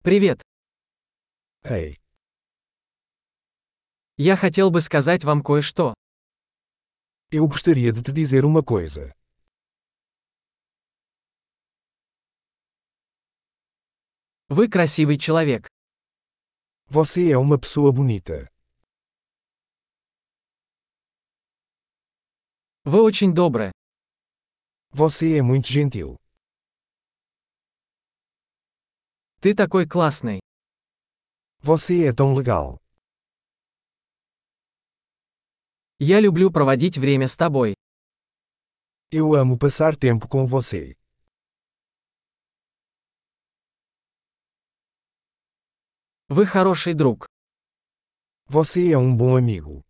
Привет. Ei, Я хотел бы сказать вам кое-что. eu gostaria de te dizer uma coisa. Вы красивый человек. Você é uma pessoa bonita. Вы очень добры. Você é muito gentil. Ты такой классный. Você é tão legal. Я люблю проводить время с тобой. Eu amo passar tempo com você. Вы хороший друг. Você é um bom amigo.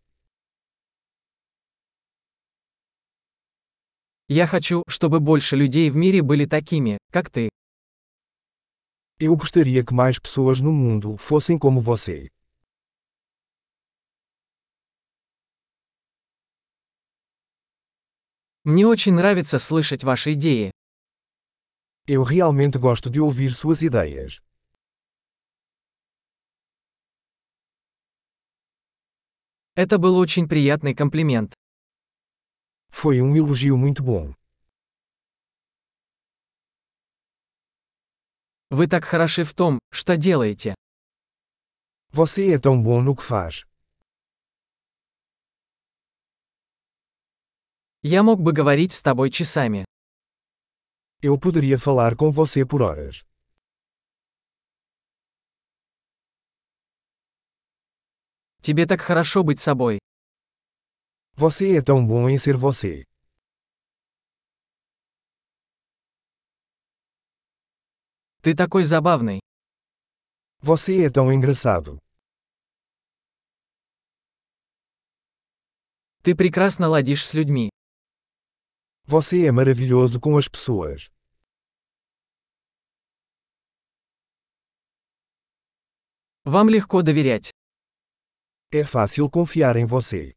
Я хочу, чтобы больше людей в мире были такими, как ты. Eu gostaria que mais pessoas no mundo fossem como você. Мне очень нравится слышать ваши идеи. Eu realmente gosto de ouvir suas ideias. Это был очень приятный комплимент. Foi um elogio muito bom. Вы так хороши в том, что делаете. Você é tão bom no que faz. Я мог бы говорить с тобой часами. Eu poderia falar com você por horas. Тебе так хорошо быть собой. Você é tão bom em ser você. Ты такой забавный. Você é tão engraçado. Ты прекрасно ладишь с людьми. Você é maravilhoso com as pessoas. Вам легко доверять. É fácil confiar em você.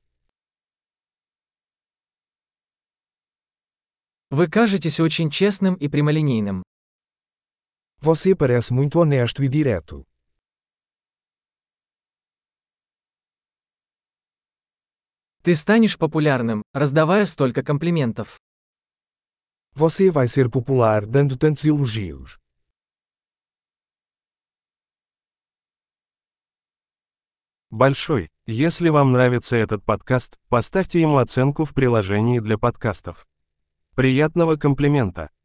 Вы кажетесь очень честным и прямолинейным. Você parece muito honesto e direto. Ты станешь популярным, раздавая столько комплиментов. Você vai ser popular dando tantos elogios. Большой. Если вам нравится этот подкаст, поставьте ему оценку в приложении для подкастов. Приятного комплимента!